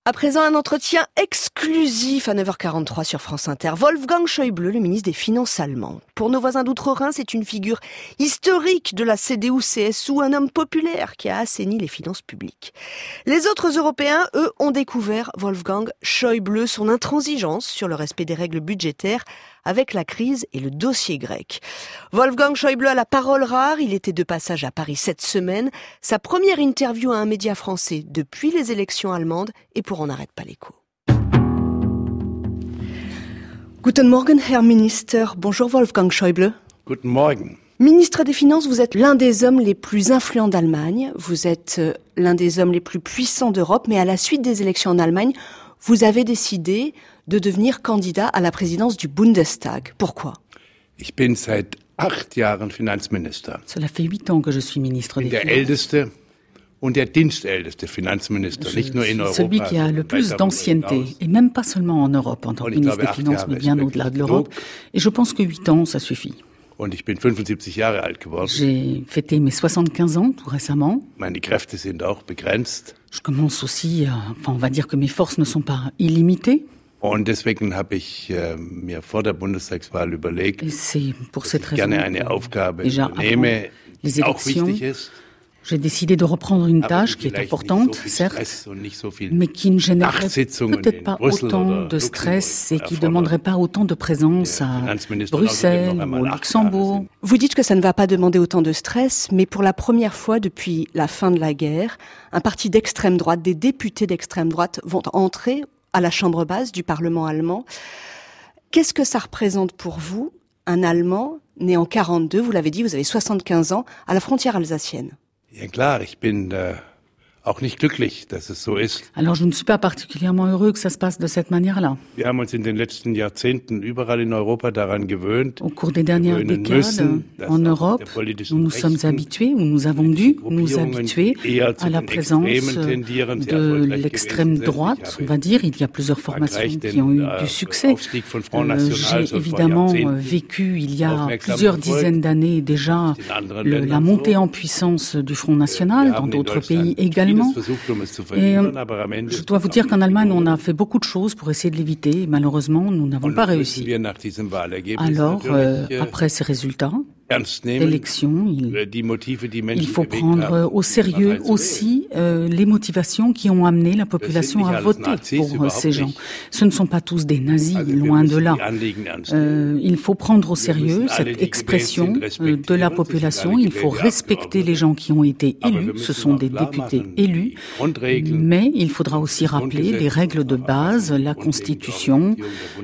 À présent, un entretien exclusif à 9h43 sur France Inter. Wolfgang Schäuble, le ministre des Finances allemand. Pour nos voisins d'outre-Rhin, c'est une figure historique de la CDU-CSU, un homme populaire qui a assaini les finances publiques. Les autres Européens, eux, ont découvert Wolfgang Schäuble, son intransigeance sur le respect des règles budgétaires avec la crise et le dossier grec. Wolfgang Schäuble a la parole rare, il était de passage à Paris cette semaine. Sa première interview à un média français depuis les élections allemandes et pour On n'arrête pas l'écho. Guten Morgen, Herr Minister. Bonjour Wolfgang Schäuble. Guten Morgen. Ministre des Finances, vous êtes l'un des hommes les plus influents d'Allemagne. Vous êtes l'un des hommes les plus puissants d'Europe. Mais à la suite des élections en Allemagne, vous avez décidé de devenir candidat à la présidence du Bundestag. Pourquoi ? Ich bin seit 8 Jahren Finanzminister. Cela fait 8 ans que je suis ministre des Der Finances. älteste und der dienstälteste Finanzminister, nicht nur in Europa. Celui qui a le plus d'ancienneté, et même pas seulement en Europe en tant que ministre des Finances, mais bien au-delà de l'Europe. Et je pense que 8 ans, ça suffit. Und ich bin 75 Jahre alt geworden. J'ai fêté mes 75 ans tout récemment. Meine Kräfte sind auch begrenzt. Je commence aussi, on va dire que mes forces ne sont pas illimitées. Und deswegen habe ich mir vor der Bundestagswahl überlegt, Et c'est pour cette dass ich raison gerne eine que, Aufgabe déjà übernehme, les die auch élections, wichtig ist, j'ai décidé de reprendre une aber tâche die qui est vielleicht importante, nicht so viel certes, Stress und nicht so viel mais qui ne générerait Nachtsitzungen peut-être in pas Brüssel autant oder de stress et Luxembourg qui ne demanderait pas autant de présence Der à Finanzminister Bruxelles außerdem noch ou einmal au 8 Jahre Luxembourg. sind. Vous dites que ça ne va pas demander autant de stress, mais pour la première fois depuis la fin de la guerre, un parti d'extrême droite, des députés d'extrême droite vont entrer à la chambre basse du Parlement allemand. Qu'est-ce que ça représente pour vous, un Allemand né en 42, vous l'avez dit, vous avez 75 ans, à la frontière alsacienne? Ja klar, ich bin auch nicht glücklich, dass es so ist. Alors je ne suis pas particulièrement heureux que ça se passe de cette manière-là. Wir haben uns in den letzten Jahrzehnten überall in Europa daran gewöhnt. Au cours des dernières gewöhnen décades, müssen, dass en auch Europe, der politischen nous nous sommes Rechten habitués, ou nous avons dû nous Gruppierungen, habituer die eher zu à la den présence Extremen tendieren, sehr de erfolgreich l'extrême gewesen sind. droite, Ich on habe va dire. Il y a plusieurs formations Frankreich qui ont eu den du succès. Aufstieg von Front National J'ai schon vor évidemment Jahrzehnten vécu il y a aufmerksam plusieurs verfolgt. dizaines d'années déjà In anderen la Ländern montée so. en puissance du Front National, Wir dans haben in d'autres Deutschland pays également. vieles versucht, um es zu Et verhindern, aber am Ende je dois vous dire qu'en Allemagne, on a fait beaucoup de choses pour essayer de l'éviter. Et malheureusement, nous n'avons Und pas müssen réussi. wir nach diesem Wahlergebnis Alors, natürlich après ces résultats ernst nehmen, d'élection, die Motive, die il Menschen faut bewegt prendre haben, au sérieux Parteien zu wählen. aussi les motivations qui ont amené la population nicht à alles voter Nazis, pour überhaupt ces gens. nicht. Ce ne sont pas tous des nazis, Also wir loin de müssen là. die Anliegen ernst nehmen. Il faut prendre au sérieux müssen alle, cette die expression gewählt sind, de la respektieren. population. Sie sind Il faut alle respecter gewählte les gens qui ont été Aber wir élus. müssen Ce sont auch des klar députés machen, élus. die Grundregeln, Mais il faudra aussi rappeler les règles de base, la Constitution,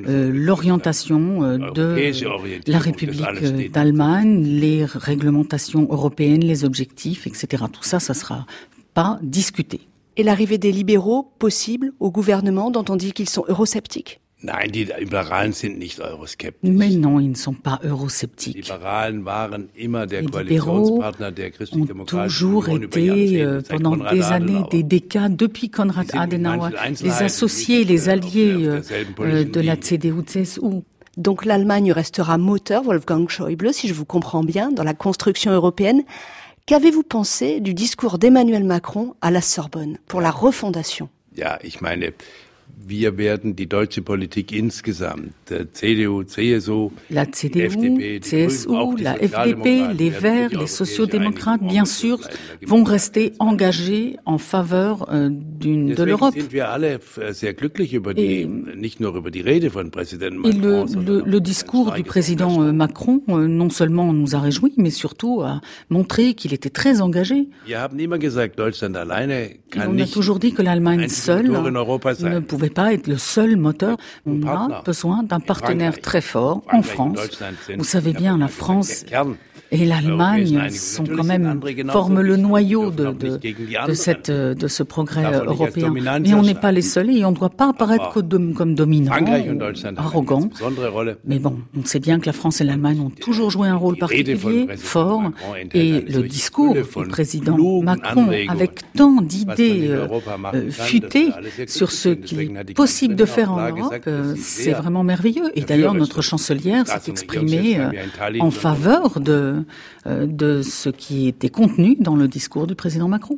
l'orientation de la République d'Allemagne, les réglementations européennes, les objectifs, etc. Tout ça, ça sera pas discuté. Et l'arrivée des libéraux possible au gouvernement dont on dit qu'ils sont eurosceptiques? Nein, die Liberalen sind nicht euroskeptisch. Mais non, ils ne sont pas Die eurosceptiques. Liberalen waren immer der Les Koalitionspartner der ont christlich-demokratischen toujours Union über été, Jahrzehnte, seit pendant Konrad des années, Adenauer. des décades, depuis Konrad Sie sind in Adenauer, manchen les Einzelheiten associés, nicht, les auf alliés derselben politischen de la Linie. CDU-CSU. Donc l'Allemagne restera moteur, Wolfgang Schäuble, si je vous comprends bien, dans la construction européenne. Qu'avez-vous pensé du discours d'Emmanuel Macron à la Sorbonne pour la refondation? Ja, ich meine, wir werden die deutsche Politik insgesamt, CDU, CSU, La die CDU, FDP, die CSU, Grünen, auch die la FDP, Sozialdemokraten les werden Verts, sich les auf sociodémocrates, europäische bien Einigung sûr, ausrichten. Da gibt es vont keine rester Frage. engagés en faveur de Deswegen l'Europe. sind wir alle sehr glücklich über die, nicht nur über die Rede von Präsident Et Macron, sondern le auch discours über du sein président Engagement. Macron, non seulement nous a réjouis, mais surtout a montré qu'il était très engagé. Wir haben immer gesagt, Deutschland alleine Et kann on a nicht toujours dit que l'Allemagne einzige seule Motor in Europa ne sein. pouvait pas être le seul moteur. On Partner. a besoin d'un partenaire Frankreich. très fort en Frankreich und France. Deutschland sind, Vous savez ich habe bien, la mal gesagt, France der Kern et l'Allemagne Europäischen sont Einigung. quand Natürlich même, sind andere genauso forment le wichtig. noyau Wir dürfen auch nicht gegen die de ce progrès Davon nicht als européen. Dominanz Mais on n'est erscheinen. pas les seuls et on ne doit pas apparaître comme dominant, Frankreich und ou Deutschland haben eine arrogant. ganz besondere Rolle. Mais bon, on sait bien que la France et l'Allemagne ont toujours joué un rôle Die Rede von particulier, Präsident fort, Macron enthält et eine le solche discours Fülle du von président klugen Macron, Anregungen, avec tant was man d'idées in Europa machen kann, futées das wir alle sehr sur glücklich ce sind. qu'il Deswegen hat die est possible de faire en Kanzlerin auch Europe, klar gesagt, dass sie c'est sehr vraiment merveilleux. Et dafür d'ailleurs, ist. notre chancelière Da s'est zum exprimée Regierungschef haben wir in Tallinn en schon faveur de ce qui était contenu dans le discours du président Macron.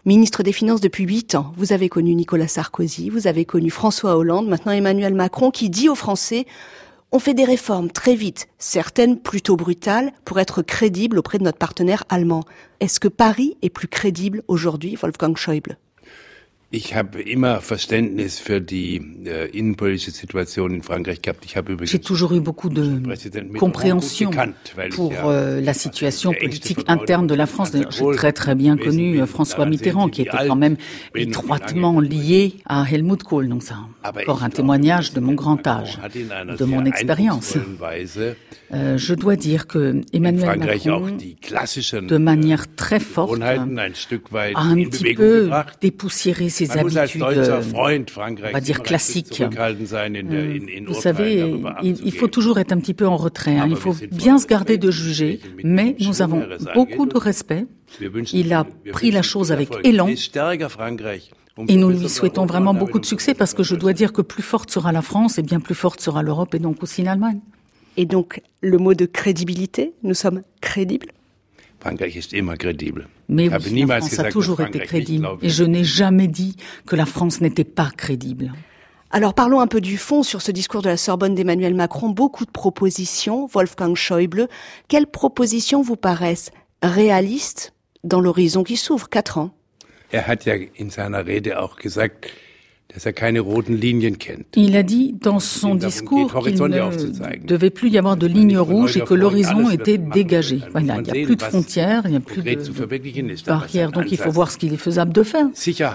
Ministre des Finances depuis 8 ans, vous avez connu Nicolas Sarkozy, vous avez connu François Hollande, maintenant Emmanuel Macron qui dit aux Français « On fait des réformes très vite, certaines plutôt brutales, pour être crédibles auprès de notre partenaire allemand ». Est-ce que Paris est plus crédible aujourd'hui, Wolfgang Schäuble ? Ich habe immer Verständnis für die innenpolitische Situation in Frankreich gehabt. J'ai toujours eu beaucoup de compréhension pour la situation politique interne de la France. J'ai très bien connu François Mitterrand, qui était quand même étroitement lié à Helmut Kohl. Donc c'est encore un témoignage de mon grand âge, de mon expérience. Je dois dire que Emmanuel Macron, de manière très forte, a un petit peu dépoussiéré ses habitudes, on va dire classiques. Vous savez, il faut toujours être un petit peu en retrait. Il faut bien se garder de juger, mais nous avons beaucoup de respect. Il a pris la chose avec élan. Et nous lui souhaitons vraiment beaucoup de succès parce que je dois dire que plus forte sera la France et bien plus forte sera l'Europe et donc aussi l'Allemagne. Et donc, le mot de crédibilité, nous sommes crédibles ? Frankreich ist immer crédible. Mais oui, la France a toujours été crédible. Et je n'ai jamais dit que la France n'était pas crédible. Alors parlons un peu du fond sur ce discours de la Sorbonne d'Emmanuel Macron. Beaucoup de propositions, Wolfgang Schäuble. Quelles propositions vous paraissent réalistes dans l'horizon qui s'ouvre, 4 ans ? Hat ja in seiner Rede auch gesagt, dass keine roten Linien kennt. Il a dit dans son discours qu'il ne devait plus y avoir de lignes rouges et que l'horizon était dégagé. Voilà, il n'y a plus de frontières, il n'y a plus de barrières, donc il faut voir ce qu'il est faisable de faire.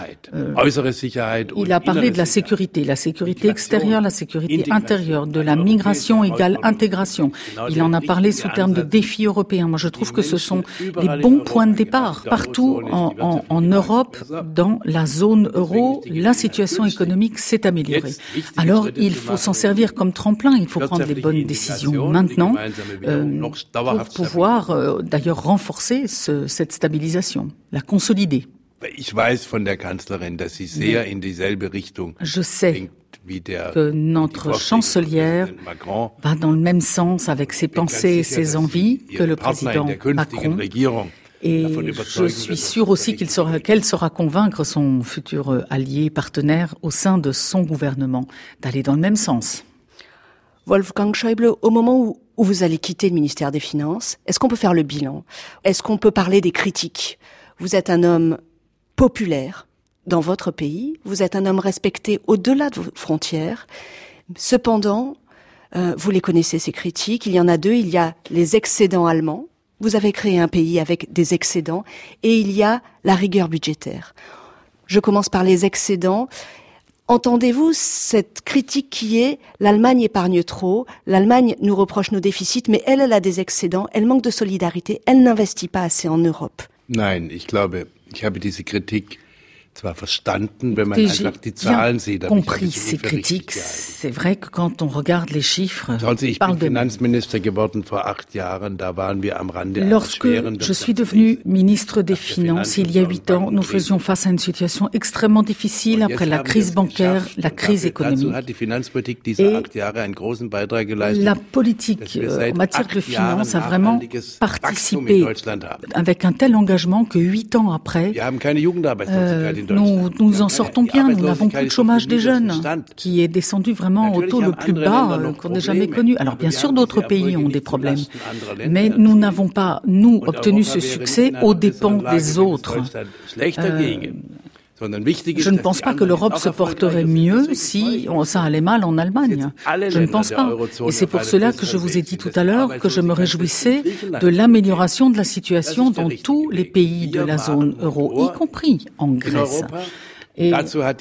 Il a parlé de la sécurité extérieure, la sécurité intérieure, de la migration égale intégration. Il en a parlé sous terme de défis européens. Moi, je trouve que ce sont les bons points de départ. Partout en Europe, dans la zone euro, la situation économique s'est améliorée. Alors, il faut s'en servir comme tremplin, il faut prendre les bonnes décisions maintenant pour pouvoir d'ailleurs renforcer cette stabilisation, la consolider. Je sais que notre chancelière va dans le même sens avec ses pensées et ses envies que le président Macron. Et je suis sûre aussi qu'elle saura convaincre son futur allié, partenaire au sein de son gouvernement d'aller dans le même sens. Wolfgang Schäuble, au moment où vous allez quitter le ministère des Finances, est-ce qu'on peut faire le bilan ? Est-ce qu'on peut parler des critiques ? Vous êtes un homme populaire dans votre pays, vous êtes un homme respecté au-delà de vos frontières. Cependant, vous les connaissez, ces critiques. Il y en a 2, il y a les excédents allemands. Vous avez créé un pays avec des excédents et il y a la rigueur budgétaire. Je commence par les excédents. Entendez-vous cette critique qui est « l'Allemagne épargne trop, l'Allemagne nous reproche nos déficits, mais elle a des excédents, elle manque de solidarité, elle n'investit pas assez en Europe ». Nein, ich glaube, ich habe diese Kritik zwar verstanden, wenn man einfach die Zahlen sieht. Compris ces critiques. C'est vrai que quand on regarde les chiffres, ich bin Finanzminister geworden vor 8 Jahren, da waren wir am Rande einer Lorsque schweren je suis devenu ministre des Finances il y a 8 ans, nous faisions face à une situation extrêmement difficile après la crise bancaire, la crise économique. Et la politique en matière de finances a vraiment participé avec un tel engagement que 8 ans après, nous en sortons bien. Nous n'avons plus de chômage des jeunes, qui est descendu vraiment au taux le plus bas qu'on ait jamais connu. Alors bien sûr, d'autres pays ont des problèmes, mais nous n'avons pas, nous, obtenu ce succès aux dépens des autres. Je ne pense pas que l'Europe se porterait mieux si ça allait mal en Allemagne. Je ne pense pas. Et c'est pour cela que je vous ai dit tout à l'heure que je me réjouissais de l'amélioration de la situation dans tous les pays de la zone euro, y compris en Grèce. Et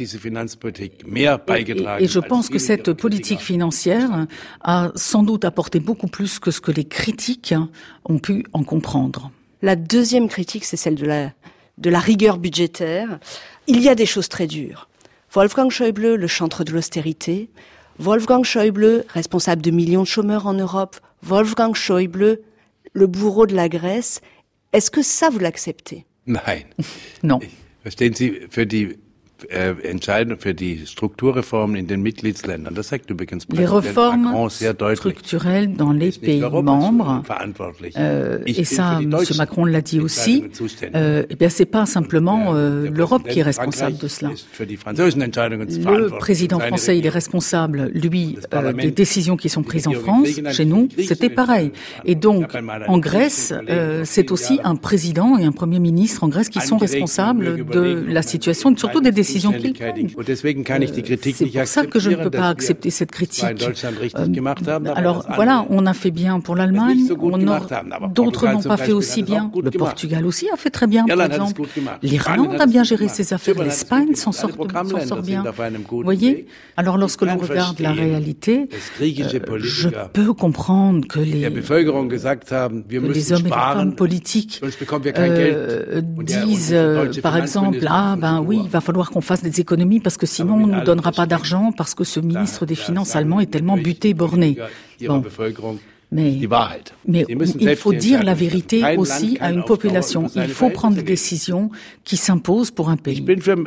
je pense que cette politique financière a sans doute apporté beaucoup plus que ce que les critiques ont pu en comprendre. La deuxième critique, c'est celle de la rigueur budgétaire. Il y a des choses très dures. Wolfgang Schäuble, le chantre de l'austérité. Wolfgang Schäuble, responsable de millions de chômeurs en Europe. Wolfgang Schäuble, le bourreau de la Grèce. Est-ce que ça, vous l'acceptez ? Nein. Non. Verstehen Sie, für die entscheidend für die Strukturreformen in den Mitgliedsländern. Das sagt übrigens les réformes structurelles dans les pays membres, et ça, M. Macron l'a dit aussi, eh bien, c'est pas simplement l'Europe qui est responsable de cela. Le président français, il est responsable, lui, des décisions qui sont prises en France. Chez nous, c'était pareil. Et donc, en Grèce, c'est aussi un président et un premier ministre en Grèce qui sont responsables de la situation, et surtout des décisions qu'ils prennent. C'est pour ça que je ne peux pas accepter cette critique. Alors voilà, on a fait bien pour l'Allemagne, d'autres n'ont pas fait aussi bien. Le Portugal aussi a fait très bien, par exemple. L'Irlande a bien géré ses affaires, l'Espagne s'en sort bien. Vous voyez ? Alors lorsque l'on regarde la réalité, je peux comprendre que les hommes et les femmes politiques disent, par exemple, oui, il va falloir qu'on fasse des économies parce que sinon on ne nous donnera pas d'argent parce que ce ministre des Finances allemand est tellement buté, borné. Bon. Mais il faut dire la vérité aussi à une population. Il faut prendre des décisions qui s'imposent pour un pays.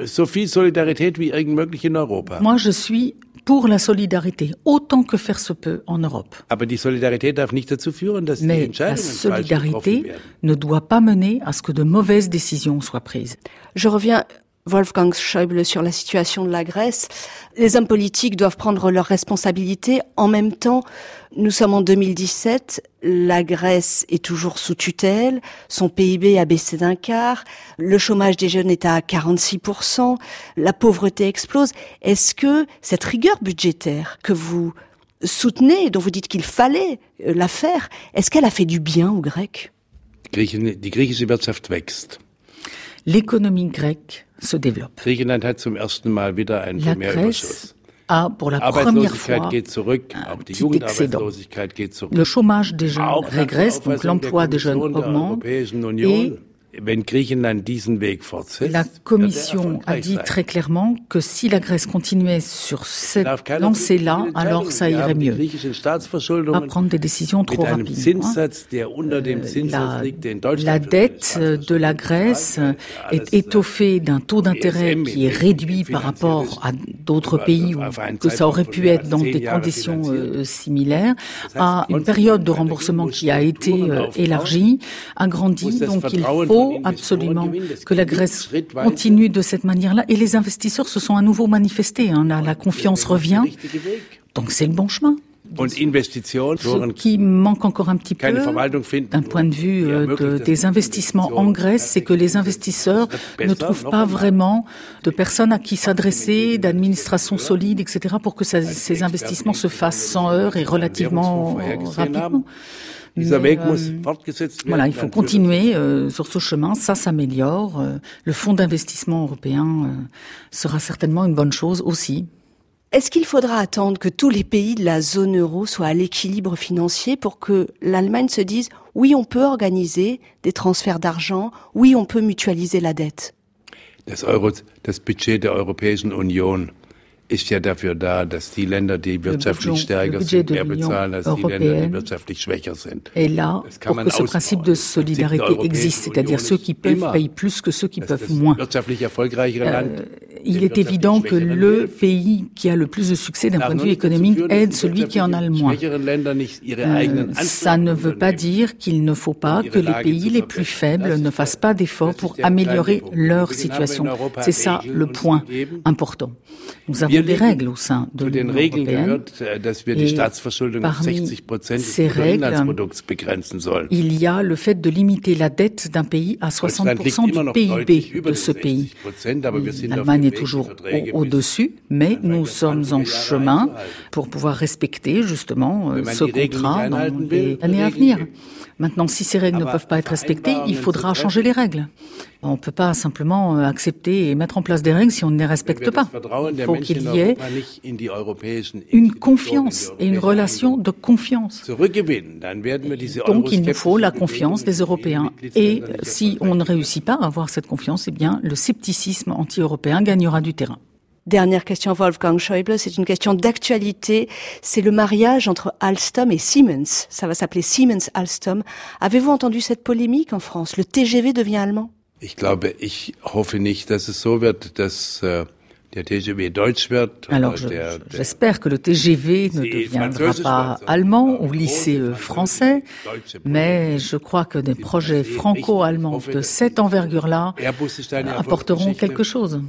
Moi, je suis pour la solidarité, autant que faire se peut en Europe. Mais la solidarité ne doit pas mener à ce que de mauvaises décisions soient prises. Je reviens, Wolfgang Schäuble, sur la situation de la Grèce. Les hommes politiques doivent prendre leurs responsabilités. En même temps, nous sommes en 2017, la Grèce est toujours sous tutelle, son PIB a baissé d'un quart, le chômage des jeunes est à 46%, la pauvreté explose. Est-ce que cette rigueur budgétaire que vous soutenez, dont vous dites qu'il fallait la faire, est-ce qu'elle a fait du bien aux Grecs ? Die griechische Wirtschaft wächst. L'économie grecque se développe. Griechenland hat zum ersten Mal wieder einen Primärüberschuss. A pour la première fois un petit excédent. Le chômage des jeunes régresse, donc l'emploi des jeunes augmente et la Commission a dit très clairement que si la Grèce continuait sur cette lancée-là, alors ça irait mieux. Pas prendre des décisions trop rapidement. La dette de la Grèce est étoffée d'un taux d'intérêt qui est réduit par rapport à d'autres pays où que ça aurait pu être dans des conditions similaires, à une période de remboursement qui a été élargie, agrandie, donc il faut absolument que la Grèce continue de cette manière-là. Et les investisseurs se sont à nouveau manifestés. La confiance revient. Donc c'est le bon chemin. Ce qui manque encore un petit peu, d'un point de vue des investissements en Grèce, c'est que les investisseurs ne trouvent pas vraiment de personnes à qui s'adresser, d'administration solide, etc., pour que ces investissements se fassent sans heurts et relativement rapidement. Mais, voilà, il faut continuer sur ce chemin, ça s'améliore. Le fonds d'investissement européen sera certainement une bonne chose aussi. Est-ce qu'il faudra attendre que tous les pays de la zone euro soient à l'équilibre financier pour que l'Allemagne se dise « oui, on peut organiser des transferts d'argent, oui, on peut mutualiser la dette » ? Das Budget der Europäischen Union ist ja dafür da, dass die Länder, die wirtschaftlich stärker sind, mehr bezahlen als die Länder, die wirtschaftlich schwächer sind. Et là, pour que ce principe de solidarité existe, c'est-à-dire ceux qui peuvent payent plus que ceux qui peuvent moins. Il est évident que le pays qui a le plus de succès d'un point de vue économique aide celui qui en a le moins. Ça ne veut pas dire qu'il ne faut pas que les pays les plus faibles ne fassent pas d'efforts pour améliorer leur situation. C'est ça le point important. Nous avons des règles au sein de l'Union européenne et parmi ces règles, il y a le fait de limiter la dette d'un pays à 60% du PIB de ce pays. L'Allemagne est toujours au-dessus, mais nous sommes en chemin pour pouvoir respecter justement ce contrat dans les années à venir. Maintenant, si ces règles ne peuvent pas être respectées, il faudra changer les règles. On ne peut pas simplement accepter et mettre en place des règles si on ne les respecte pas. Il faut qu'il y ait une confiance et une relation de confiance. Donc, il nous faut la confiance des Européens. Et si on ne réussit pas à avoir cette confiance, eh bien, le scepticisme anti-européen gagnera du terrain. Dernière question, Wolfgang Schäuble, c'est une question d'actualité. C'est le mariage entre Alstom et Siemens. Ça va s'appeler Siemens-Alstom. Avez-vous entendu cette polémique en France ? Le TGV devient allemand ? Ich hoffe nicht, dass es so wird, dass Alors, j'espère que le TGV ne deviendra pas allemand ou lycée français, mais je crois que des projets franco-allemands de cette envergure-là apporteront quelque chose.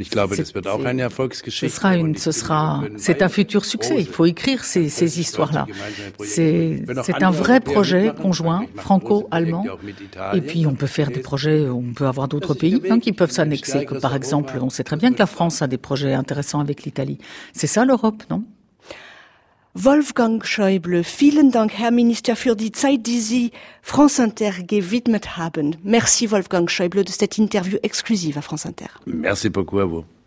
C'est un futur succès. Il faut écrire ces histoires-là. C'est un vrai projet conjoint franco-allemand. Et puis on peut faire des projets, on peut avoir d'autres pays qui peuvent s'annexer. Que par exemple, on sait très bien que la France a des projets intéressants avec l'Italie. C'est ça l'Europe, non? Wolfgang Schäuble, vielen Dank, Herr Minister, für die Zeit, die Sie France Inter gewidmet haben. Merci Wolfgang Schäuble de cette interview exclusive à France Inter. Merci beaucoup à vous.